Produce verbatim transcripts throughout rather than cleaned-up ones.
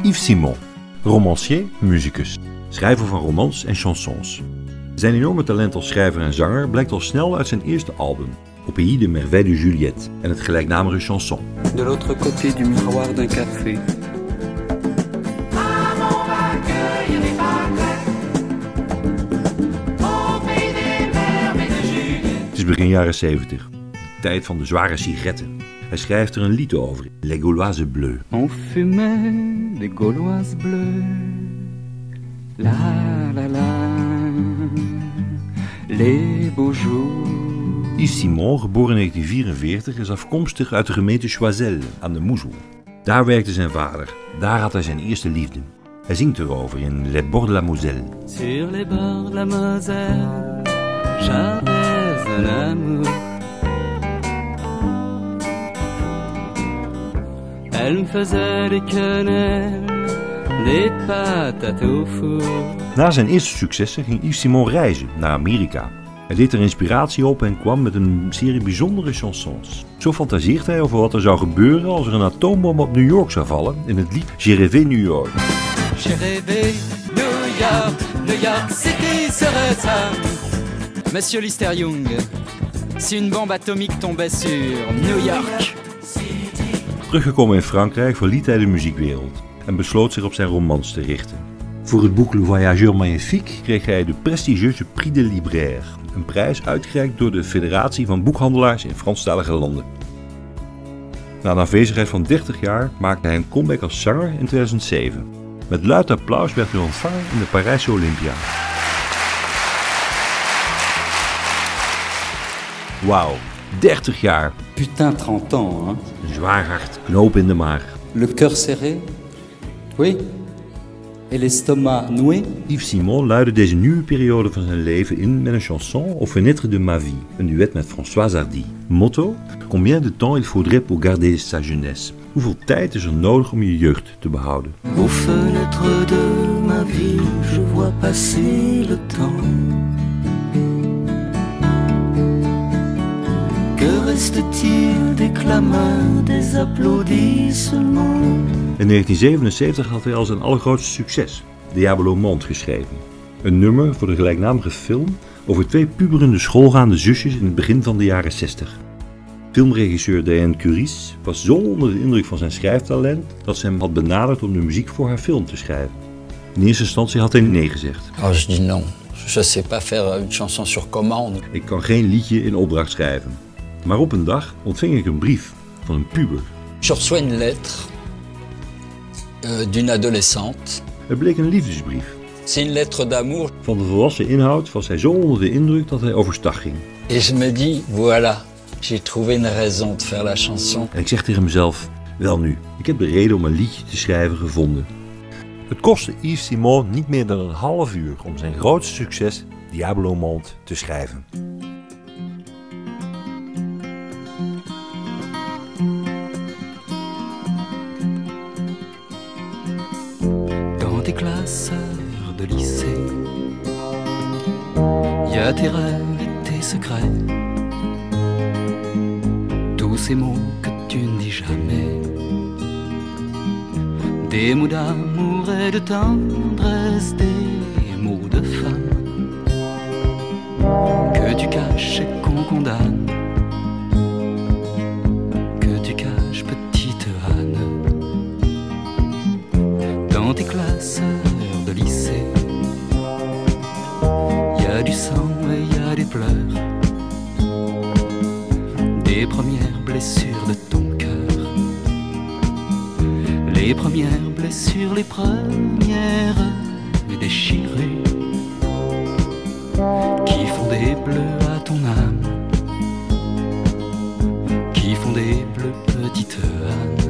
Yves Simon, romancier, muzikus, schrijver van romans en chansons. Zijn enorme talent als schrijver en zanger blijkt al snel uit zijn eerste album, Au pays de merveilles de Juliette, en het gelijknamige chanson. De l'autre côté du miroir d'un café. Het is begin jaren zeventig, de tijd van de zware sigaretten. Hij schrijft er een lied over, Les Gauloises Bleues. On fumait des Gauloises bleues. La la la. Les beaux jours. Yves Simon, geboren in negentien vierenveertig, is afkomstig uit de gemeente Choiseul aan de Moezel. Daar werkte zijn vader, daar had hij zijn eerste liefde. Hij zingt erover in Les Bords de la Moselle. Sur les bords de la Moselle, j'avais un amour. Elle me faisait des quenelles, des patates au four. Na zijn eerste successen ging Yves Simon reizen naar Amerika. Hij deed er inspiratie op en kwam met een serie bijzondere chansons. Zo fantaseert hij over wat er zou gebeuren als er een atoombom op New York zou vallen in het lied J'ai rêvé New York. J'ai rêvé New York, New York City serait ça. Monsieur Lister Young, si une bombe atomique tombait sur New York. Teruggekomen in Frankrijk verliet hij de muziekwereld en besloot zich op zijn romans te richten. Voor het boek Le Voyageur Magnifique kreeg hij de prestigieuze Prix de Libraire, een prijs uitgereikt door de Federatie van Boekhandelaars in Franstalige landen. Na een afwezigheid van dertig jaar maakte hij een comeback als zanger in tweeduizend zeven. Met luid applaus werd hij ontvangen in de Parijse Olympia. Wauw, dertig jaar. Putain, trente ans, hein. Een zwaar hart, knoop in de maag. Le cœur serré. Oui. Et l'estomac noué. Yves Simon luidde deze nieuwe periode van zijn leven in met een chanson Aux fenêtres de ma vie, een duet met Françoise Hardy. Motto: Combien de temps il faudrait pour garder sa jeunesse? Hoeveel tijd is er nodig om je jeugd te behouden? Aux fenêtres de ma vie, je vois passer le temps. Que reste-t-il des clameurs, des applaudissements? In negentien zevenenzeventig had hij al zijn allergrootste succes, Diabolo Monde, geschreven. Een nummer voor de gelijknamige film over twee puberende schoolgaande zusjes in het begin van de jaren zestig. Filmregisseur Diane Curies was zo onder de indruk van zijn schrijftalent dat ze hem had benaderd om de muziek voor haar film te schrijven. In eerste instantie had hij nee gezegd. Oh, je dis non. Je sais pas faire une chanson sur commande. Ik kan geen liedje in opdracht schrijven. Maar op een dag ontving ik een brief van een puber. Je reçois une lettre euh, d'une adolescente. Het bleek een liefdesbrief. C'est une lettre d'amour. Van de volwassen inhoud was hij zo onder de indruk dat hij overstag ging. Et je me dis, voilà, j'ai trouvé une raison de faire la chanson. En ik zeg tegen mezelf, wel nu, ik heb de reden om een liedje te schrijven gevonden. Het kostte Yves Simon niet meer dan een half uur om zijn grootste succes, Diabolo Monde, te schrijven. Tes classeurs de lycée, y a tes rêves et tes secrets, tous ces mots que tu ne dis jamais, des mots d'amour et de tendresse, des mots de femme que tu caches et qu'on condamne, que tu caches petite Anne. Dans tes classeurs de lycée, y a du sang et y a des pleurs, des premières blessures de ton cœur, les premières blessures, les premières déchirées, qui font des bleus à ton âme, qui font des bleus petite Anne.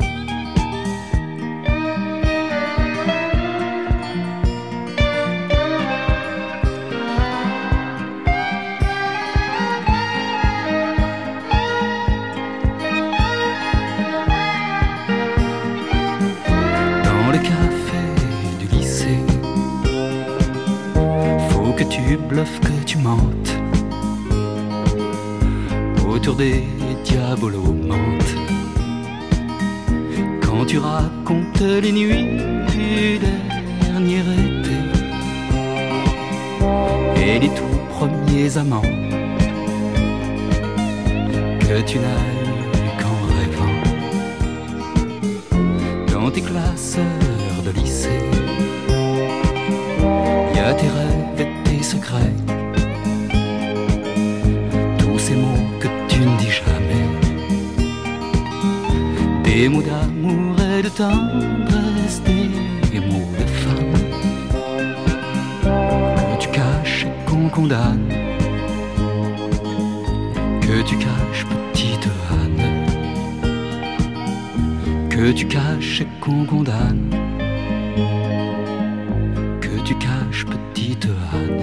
Tu bluffes, que tu mentes autour des diabolos mentent. Quand quand tu racontes les nuits du dernier été et les tout premiers amants que tu n'as eu qu'en rêvant dans tes classeurs de lycée. Y a tes rêves et tes secrets, tous ces mots que tu ne dis jamais, des mots d'amour et de tendresse, des mots de femme que tu caches et qu'on condamne, que tu caches petite Anne, que tu caches et qu'on condamne, que tu caches petite Anne.